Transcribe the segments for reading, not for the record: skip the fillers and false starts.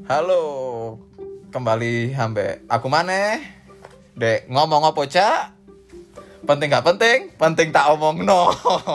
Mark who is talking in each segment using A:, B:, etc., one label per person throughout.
A: Halo, kembali ambek aku maneh. Dek ngomong apa cak? Penting gak penting? Penting tak omong no.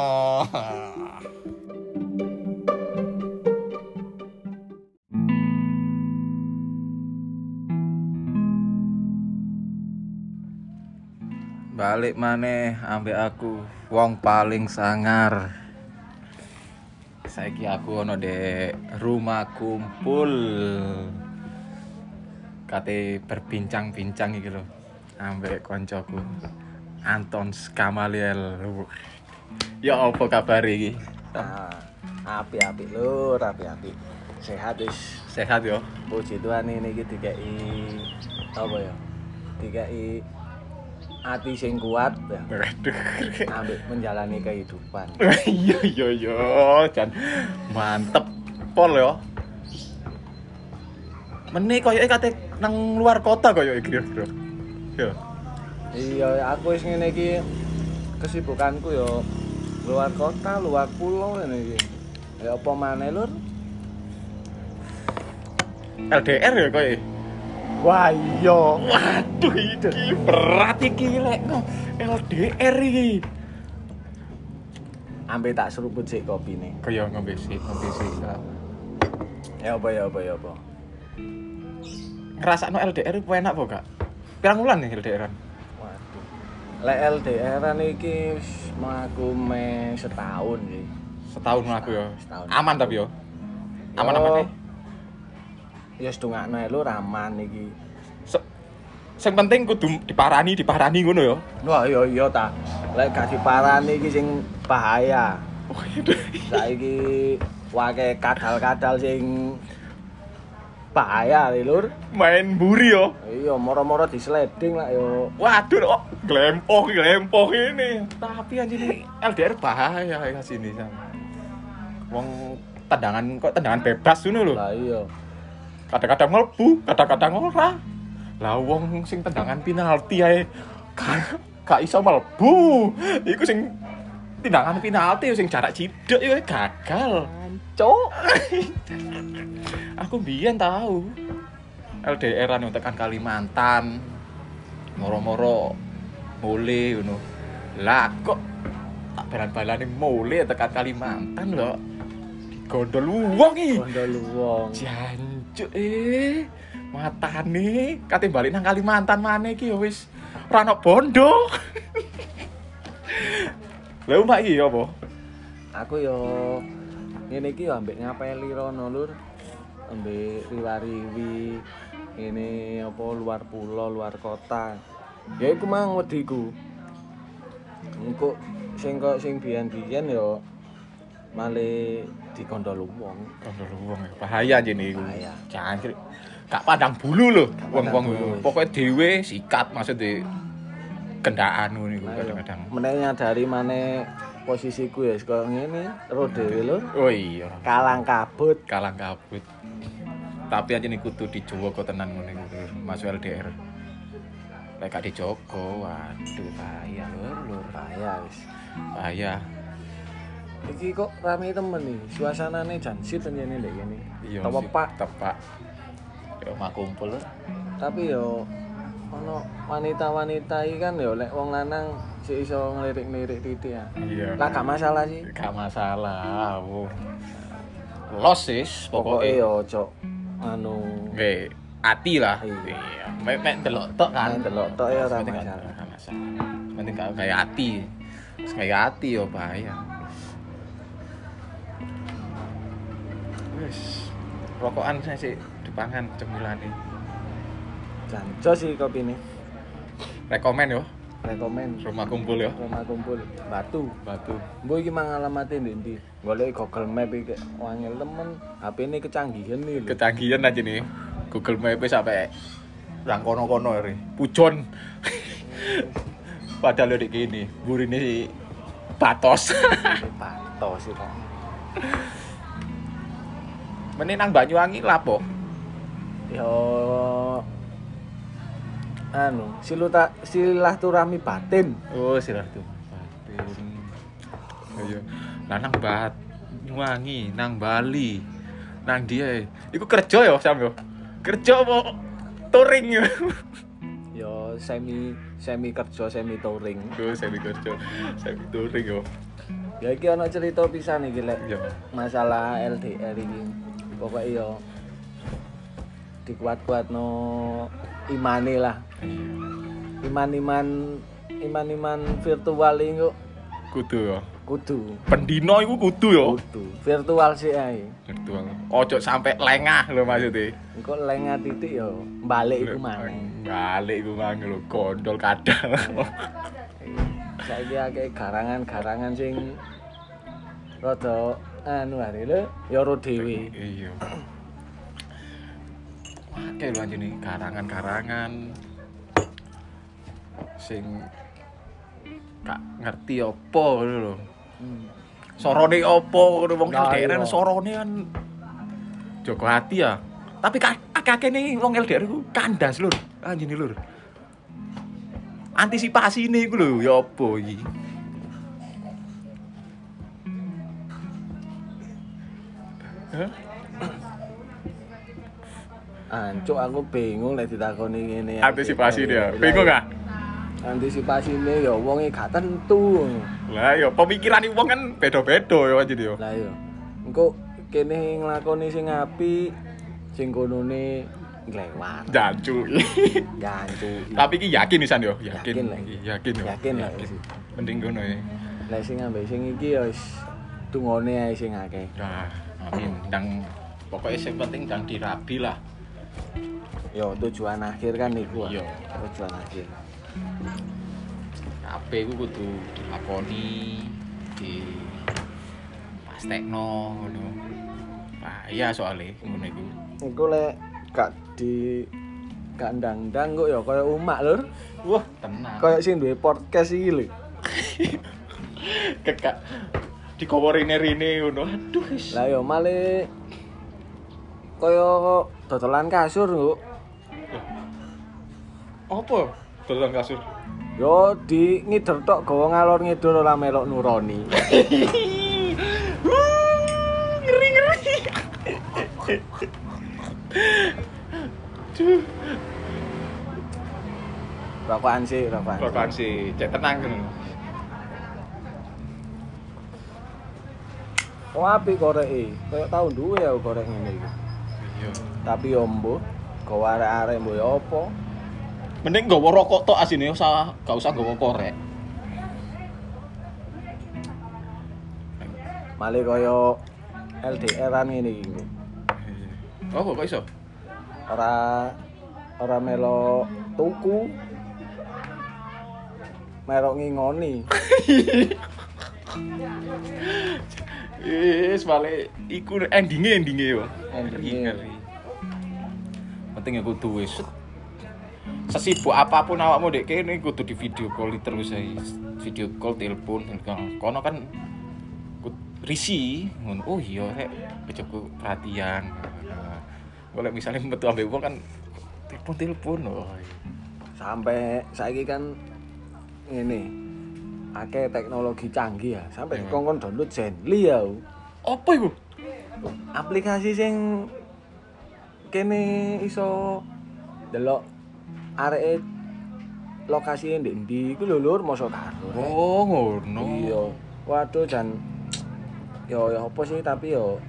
A: Balik maneh ambek aku, wong paling sangar. Saiki aku ono di rumah kumpul. Kate berbincang-bincang iki lho ambek koncoku Anton Skamaliel. Ya apa kabar iki?
B: Api-api lur, api-api. Sehat wis.
A: Sehat yo.
B: Puji Tuhan ini iki dikai apa ya? Dikai ati sing kuat ya.
A: Waduh.
B: Ambek menjalani kehidupan.
A: Iya jan mantep pol yo. Mene koyoke kate nang luar kota koyoke kira-kira. Yo.
B: Iya, aku wis ngene iki kesibukanku yo luar kota, luar pulau ngene iki. Ya apa maneh lur?
A: LDR ya koyoke.
B: Wah iya.
A: Waduh iki berat iki lek LDR iki.
B: Ambek tak seruput sik kopine.
A: Kaya ngombe sik.
B: Ya apa.
A: Ngrasakno LDR ku enak apa gak? Pirang wulan nih LDR-an?
B: Waduh. Lek LDR-an iki wis mlaku me setahun sih.
A: Setahun aku ya.
B: Setahun.
A: Aman tapi yo. Aman-aman nih.
B: Ya setungakno lho aman iki.
A: Sing penting kudu diparani ngono ya.
B: Wah iya ta. Lek gak diparani iki sing bahaya. Saiki wake kadal-kadal sing bahaya lur.
A: Main buri yo.
B: Iya, moro-moro disleding lah yo.
A: Waduh kok glempoh ini. Tapi anjir LDR bahaya kayak sini sama. Wong tendangan bebas ngono lho.
B: Lah iya.
A: Kadang-kadang mlebu, kadang-kadang ora. Lah wong sing tendangan penalti ae gak iso mlebu. Iku sing tendangan penalti sing jarak cidek yo gagal.
B: Cuk.
A: Aku biyen tahu LDR-an tekan Kalimantan. Moro-moro mule ngono. Lah kok tak balan-balane mule tekan Kalimantan lho. Digondol wong iki.
B: Gondol wong.
A: Jancuk matane kate balik nang Kalimantan maneh iki ya wis ora ono bondo. Lha omak iki apa?
B: Aku yo ngene iki yo ambek ngapeli rono lur. Ambek riwariwi ini apa luar pulau, luar kota. Ya iku mang wediku. Engko sing biyen-biyen yo male digondol wong.
A: Gondol wong bahaya jene iku.
B: Bahaya.
A: Jancuk gak pandang bulu lho wong-wong
B: bulu.
A: iku. Pokoke dhewe sikat maksudnya kendaan ngono iku kadang-kadang.
B: Meneh nyadari maneh posisiku ya kaya ngene, ro dhewe lho.
A: Oh iya,
B: Kalang kabut.
A: Tapi aja nih kudu dijogo tenan ngono iku masuk LDR. Lek gak dijogo, waduh bahaya lur.
B: Bahaya wis.
A: Bahaya.
B: Iki kok rame temen nih, suasanane jan sit njene ndek kene.
A: Iya. Tepak. Yo mak kumpul lho.
B: Tapi yo ono wanita-wanita iki kan yo lek wong lanang sik iso ngelirik-ngelirik titik ya.
A: Iya.
B: Lah gak masalah sih.
A: Gak masalah. Los sis
B: Pokoke
A: pokoke.
B: yo ojo anu
A: Nggih, ati lah.
B: Iya.
A: Iya. Mek delok tok kan.
B: Mek delok tok ya ora
A: Penting gak
B: masalah.
A: masalah. Penting gak kayak ati. Wis kayak ati yo bahaya. Wis rokokan saya sih dipangan cemilane.
B: Janco sih kopine.
A: Rekomen yo
B: Rekomen
A: rumah kumpul yo.
B: rumah kumpul Batu.
A: Batu.
B: Mbok iki mang alamate ndi? Golek Google Map iki wangel temen. HP-ne kecanggihan nih lho.
A: Kecanggihan aja nih. Google Map sampai yang kono-kono re. Pujon. Padahal udah gini, burine si Batos.
B: Patos sih kok.
A: Mene nang Banyuwangi lapo?
B: Yo anu, silaturahmi batin.
A: Oh, silaturahmi. Ayo. Lah nang Banyuwangi, nang Bali, nang dia. Iku kerja ya, Sam yo. Kerja apa touring ya?
B: Yo semi kerja semi touring.
A: Duh, semi kerja, semi touring yo.
B: Ya iki ana cerita pisan iki lek
A: Iya.
B: masalah LDR iki. Pokoke yo dikuat-kuatno imane lah. Iman-iman virtual iki kok
A: Kudu ya.
B: kudu
A: Pendino iku kudu ya.
B: kudu virtual sih ae.
A: Virtual. Ojo sampai lengah lho maksudnya.
B: Engko lengah titik yo balik iku maneh.
A: Balik iku mang lho, gondol kadal.
B: Saiki akeh garangan-garangan sing rada anu are lho ya ro dhewe.
A: Iya. Akeh lho anjene karangan-karangan sing gak ngerti apa ngono lho. Sorone apa ngono wong
B: Nah,
A: LDR
B: iya.
A: sorone kan Joko Hati ya. Tapi akeh nih wong LDR iku kandas lur. Anjene lur. Antisipasine iku lho ya apa iki? Hah?
B: Ancuk aku bingung lek ditakoni ngene.
A: Antisipasi dia. Bingung gak?
B: Antisipasine ya wonge gak tentu.
A: Lah ya pemikirane wong kan beda-beda ya anjene ya.
B: Lah iya. Engko kene nglakoni sing apik, sing konone nglewat.
A: Jancu.
B: Gancu.
A: Tapi iki yakin pisan yo,
B: Yakin
A: yakin.
B: lah.
A: Yakin yo.
B: Yakin lah.
A: Mending ngono ya.
B: Lek sing ambek sing iki ya wis tungone ae sing akeh.
A: Nah, amin. Ndang pokoknya sing penting ndang dirabi lah.
B: Yo tujuan akhir kan iku.
A: Iya.
B: Tujuan akhir.
A: Kabeh iku kudu dilakoni di pastekno ngono. Bahaya soalnya ngono iku.
B: Iku lek gak ndang-ndang kok ya kaya umak lur.
A: Wah, tenang.
B: Kaya sing duwe podcast iki lho.
A: Kekak dikowo rene-rene ngono. Aduh wis.
B: Lah yo male kaya dodolan kasur kok.
A: Apa? Dodolan kasur.
B: Yo di ngider tok gawa ngalor ngidul ora melok nuroni.
A: Ngeri-ngeri. Duh.
B: Rokokan sih.
A: Rokokan sih, cek tenang kan.
B: Oh apik koreke. Kaya tau duwe ya korek ngene iki.
A: Iya.
B: Tapi yo mbuh gawa arek-arek mbuh ya apa?
A: Mending nggawa rokok tok asine gak usah nggawa korek.
B: Male kaya LDR-an ngene iki.
A: Oh, kok iso?
B: Ora melok tuku. Melok ngingoni.
A: Wis balik iku endinge yo.
B: Endinge.
A: Ngeri. Penting ya kudu wis sesibuk apapun awakmu dek kene kudu di video call terus ae. Video call, telepon, kono kan risi ngono. Oh iya rek, bojoku perhatian. Golek misalnya metu ambek wong kan telepon. Oh.
B: Sampai saiki kan ngene. Akeh teknologi canggih ya. Sampai kongkon download Zenly ya.
A: Apa iku?
B: Aplikasi sing kene iso delok areke lokasi ndek ndi iku lho lur mosok karo.
A: Oh, ngono.
B: Iya. Waduh jan yo apa sih tapi yo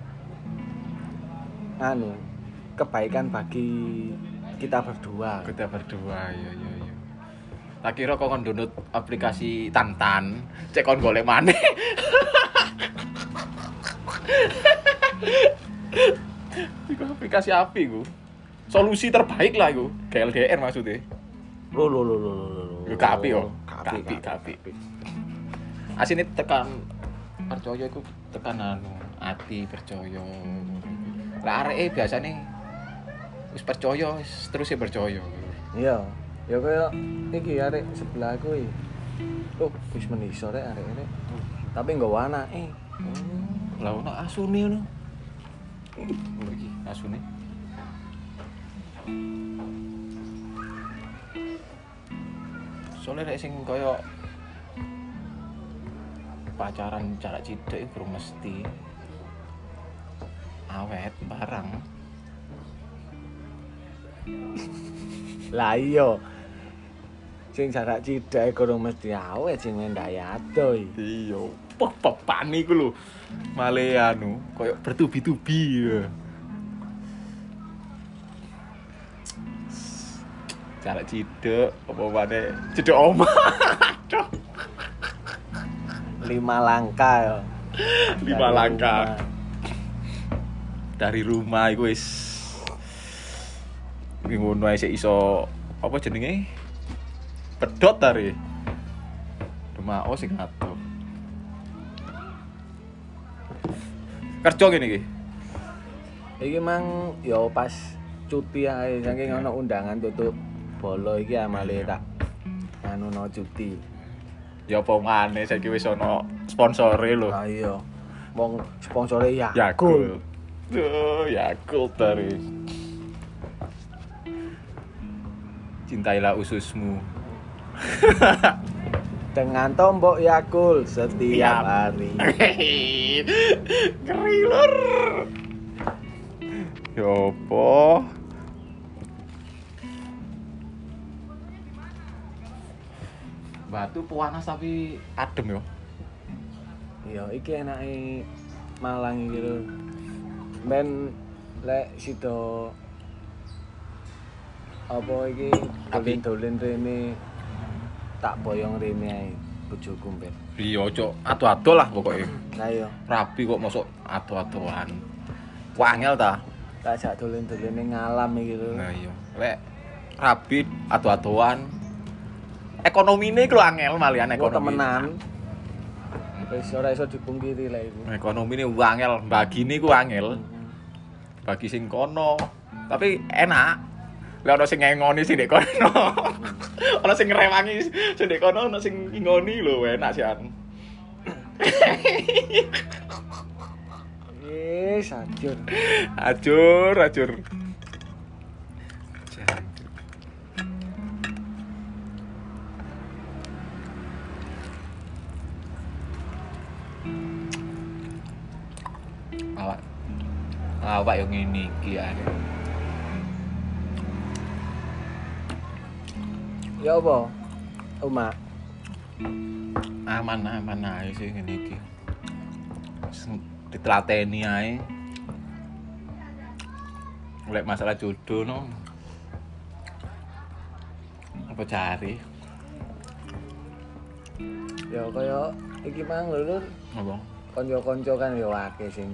B: anu kebaikan bagi kita berdua.
A: Kita berdua, iya. Tak kira kok kon download aplikasi Tantan, cek kon golek maneh. Iku aplikasi api iku. Solusi terbaik lah iku, GLDR maksudnya.
B: Lho.
A: Yo kapi yo.
B: Kapi.
A: Asine tekan percaya iku tekan anu, ati percaya. Lah areke biasane wis percaya wis terus percaya.
B: Iya. Ya kaya iki arek sebelahku iki. Oh, wis meniso rek arek ini. Tapi nggawa anake.
A: Lah ono asune ngono. Oh iki asune. Soale rek sing kaya pacaran jarak cidek iku mesti awet barang.
B: Lah iya. Sing jarak cidake kurang mesti awet sing ndai ado iki.
A: Iya, pepan iku lho. Male anu, koyo bertubi-tubi ya. Jarak cidek apa maneh cedek omah. Aduh.
B: 5 langkah ya.
A: 5 langkah. Dari rumah iku wis ngono ae sik iso apa jenenge? Pedot tare. Demao sing atuh. Kerja ngene iki.
B: Iki mang ya pas cuti ae saking ana undangan tutup bolo iki amale tak anu no cuti.
A: Ya apa maneh saiki wis ana sponsore lho.
B: Ah iya. Wong sponsore Yakult.
A: Yakult. Duh, Yakult tare. Cintailah ususmu.
B: Dengan tombok Yakult setiap
A: Siap.
B: hari.
A: Ngeri lur. Ya apa? Batu panas tapi adem yo.
B: Iya, iki enake Malang iki lho. Ben lek sida apa iki dolen-dolen rene tak boyong rene ae bojoku ben.
A: Iya, cok, ado-ado lah pokoknya.
B: Lah iya,
A: Rabi kok masuk ado-adoan. Wangel ta?
B: tak jak dolen-dolene ngalam iki lho.
A: Nah iya. Lek rabi ado-adoan. Ekonomine iku lho angel malian
B: Kok
A: ekonomi.
B: temenan. Wis ora iso dipungkiri lah iku.
A: Ekonomine angel, bagine iku angel. Bagi sing kono. Tapi enak. Lah ono sing ngengoni sing ndek kono. Ono sing ngrewangi sing ndek kono, ono sing ngingoni lho, enak sian.
B: Wis ajur.
A: Ajur. Awak yang ngene iki ae.
B: Ya apa? Uma.
A: Aman ae sih ngene iki. Ditelateni ae. Lek masalah jodoh no. Apa cari?
B: Ya kaya iki mang lho Lur.
A: Apa?
B: Kanca-kanca kan ya akeh sing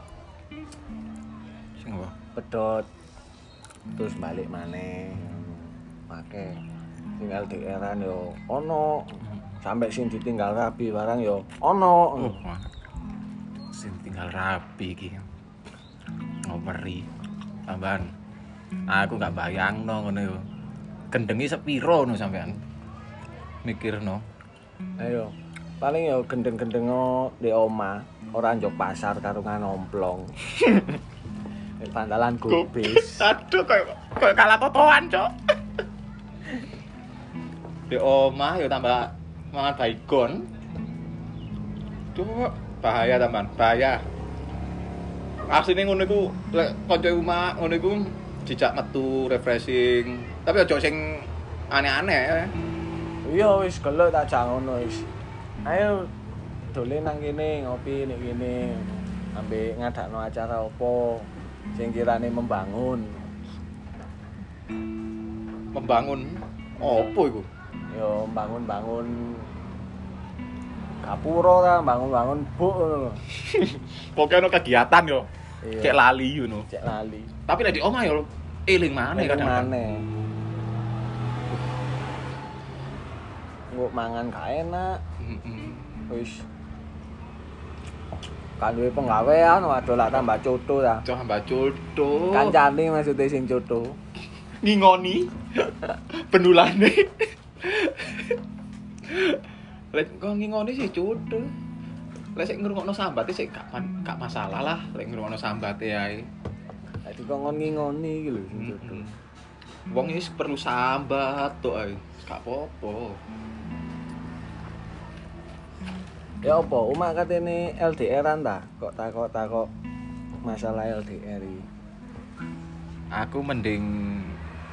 A: Apa?
B: pedot terus balik maneh. Akeh sing LDR-an yo ono. Sampai sing ditinggal rabi barang yo ono.
A: Oh, sing tinggal rapi iki. Ngoperi. Tambahan. Aku gak bayangno ngono yo. Gendenge sepiro no sampean? Mikirno.
B: Ayo. Paling yo gendeng-gendengo di omah, ora njok pasar karungan omplong. Pantalan gubis.
A: Aduh koyo kalah totoan, Cok. Di omah yo tambah mangan baygon. Tuh bahaya tambahan, bahaya. Asline ngono iku lek kanca omah ngono iku dijak metu refreshing. Tapi aja sing aneh-aneh.
B: Iya wis gelek tak jak ngono wis. Ayo dolen nang kene ngopi nek kene. Ambek ngadakno acara opo sing kirane membangun.
A: Membangun opo iku?
B: Yo bangun-bangun gapura ta, bangun-bangun buk ngono lho.
A: Pokoke ono kegiatan yo.
B: Iya.
A: Cek lali ngono.
B: Cek lali.
A: Tapi lek di omah yo eling maneh kadang.
B: Maneh. Nguk mangan gak enak.
A: Heeh.
B: Wis kan duwe penggawean waduh lak tambah coto ta.
A: Cok mbak Culto.
B: Kancane maksude sing coto.
A: Ngingoni pendulane. Lek kok ngingoni sih Culto. Lek sik ngrungokno sambate sik gak masalah lah lek ngrungokno sambate ae.
B: Dadi kok ngon ngingoni iki lho sing coto.
A: Wong iki perlu sambat tok ae. Gak apa-apa.
B: Ya apa, umak katene LDR-an ta? Kok takok masalah LDR iki.
A: Aku mending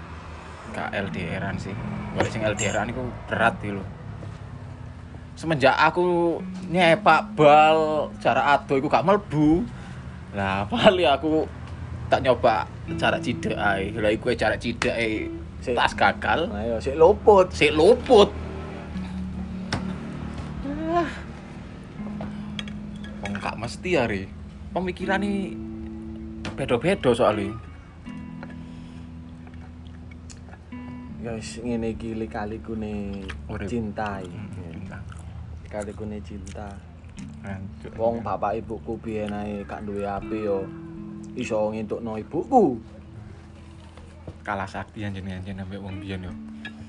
A: gak LDR-an sih. Golek sing LDR-an iku berat iki lho. Semenjak aku nyepak bal jarak ado iku gak mlebu. Lah paling aku tak nyoba jarak cidek ae. Lah iku jarak cidek ae tas gagal.
B: Nah, yo sik luput.
A: Sik luput. Wong gak mesti ari. Pemikirane beda-beda soalnya.
B: Guys, ngene iki lika-likune
A: Urip.
B: cinta iki. Lika-likune cinta.
A: Hancur.
B: Wong bapak ibuku biyen ae gak duwe HP yo iso ngentukno ibuku.
A: Kalah sakti anjen-anjen ambek wong biyen yo.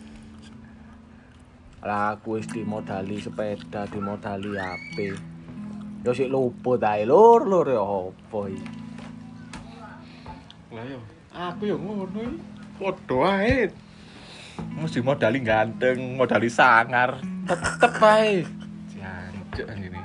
B: Lah aku wis dimodali sepeda, dimodali HP. Yo sik luput ae lur yo opo iki.
A: Lah yo, aku yo ngono iki. Padha ae. Mesti modali ganteng, modali sangar, tetep ae. Jancuk anjene.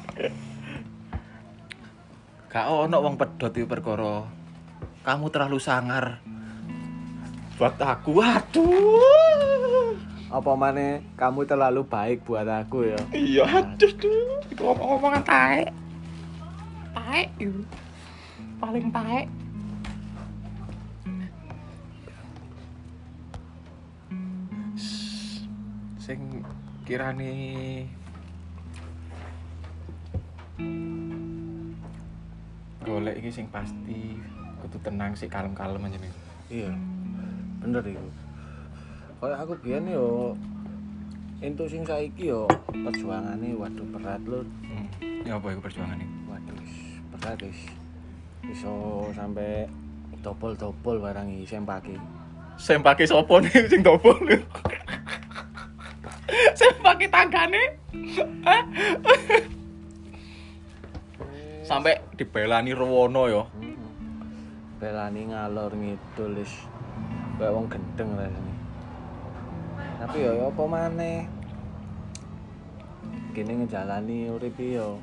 A: Gak ono wong pedhot iki perkara kamu terlalu sangar. Buat aku, waduh.
B: Apa maneh kamu terlalu baik buat aku ya.
A: Iya, aduh tuh. Itu ngomong-ngomongan taek. Taek itu. Paling taek. Sing kirane golek iki sing pasti kudu tenang sik kalem-kalem aja nih.
B: Iya. Bener iku. Kayak aku biyen yo entuk sing saiki yo perjuangane waduh berat lho.
A: Ya apa iku perjuangane?
B: Waduh berat wis. Iso sampai dobol-dobol barang iki sempake.
A: Sempake sapa nih sing dobol? Sempake tanggane. Sampai dibelani rewono ya.
B: Belani ngalor ngidul wis kaya wong gendeng rasane. Tapi yo apa maneh? Kene ngejalani urip yo.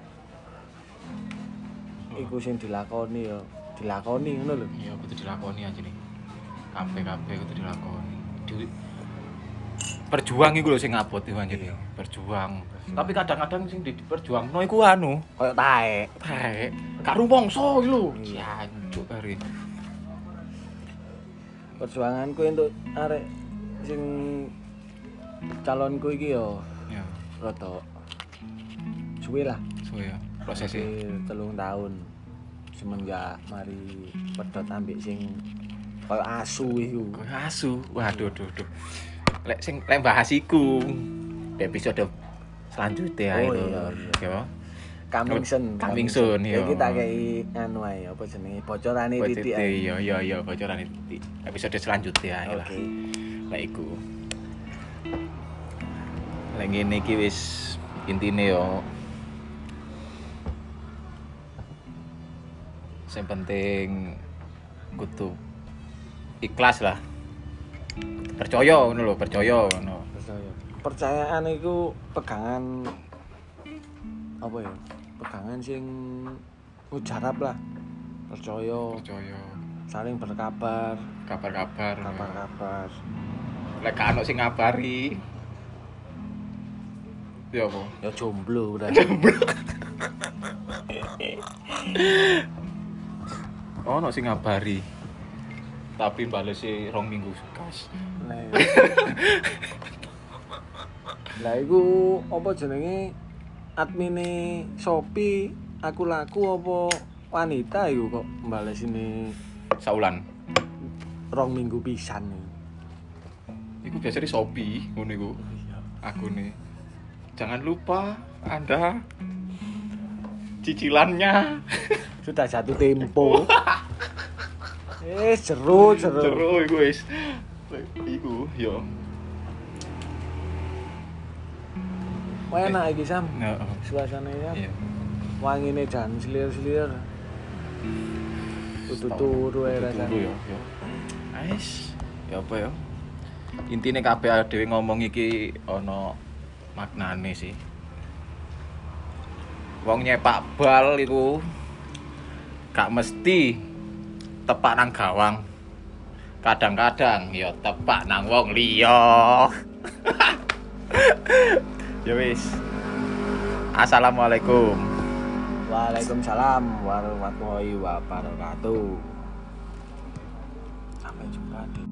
B: Iku sing dilakoni yo, dilakoni ngono lho.
A: Iya kudu dilakoni aja nih. Kabeh kudu dilakoni. Berjuang iku lho sing abot iku anjir. Berjuang. Tapi kadang-kadang sing diperjuangno iku anu,
B: Kaya taek.
A: taek. Gak rumangsa iki lho. Jancuk kari.
B: Perjuanganku untuk arek sing calonku iki yo
A: Ya,
B: rada suwe lah.
A: suwe ya prosesnya.
B: 3 tahun semenjak mari pedhot ambek sing kaya asu iku.
A: Koyo asu. Waduh, duh. Lek bahas iku episode selanjutnya
B: Oh,
A: itu.
B: iya.
A: Ya.
B: Coming soon,
A: iya.
B: Iki tak kei anu ae apa jenenge bocorane titik ae.
A: Iya, bocoran titik. Episode selanjutnya ae lah.
B: Oke.
A: Lek iku. Lek ngene iki wis intine yo. Sing penting kudu ikhlas lah. Percaya ngono lho, percaya ngono.
B: Percayaan iku pegangan apa ya? Pegangan sing mujarab lah. Percaya, saling berkabar,
A: Kabar-kabar.
B: kabar-kabar.
A: Lek gak ono sing ngabari. Ya apa?
B: Ya jomblo udah.
A: Ono sing ngabari. Tapi balesi 2 minggu gas.
B: Lah iku apa jenenge admine Shopee aku laku apa wanita iku kok mbales ini
A: Saulan.
B: 2 minggu pisan.
A: Iku biasanya Shopee ngono iku. Akune. Jangan lupa Anda cicilannya
B: Sudah jatuh tempo. Seru.
A: Seru iku wis. Iku yo.
B: Wah enak iki Sam.
A: Heeh.
B: Suasananya
A: Iya.
B: wangine jan selir-selir. Kudu turu ae rasane.
A: Turu yo. Ais, ya apa ya? Intine kabeh dhewe ngomong iki ana maknane sih. Wong nyepak bal iku gak mesti tepak nang gawang. kadang-kadang ya tepak nang wong liya. Ya wis. Assalamualaikum.
B: Waalaikumsalam warahmatullahi wabarakatuh. Sampai jumpa di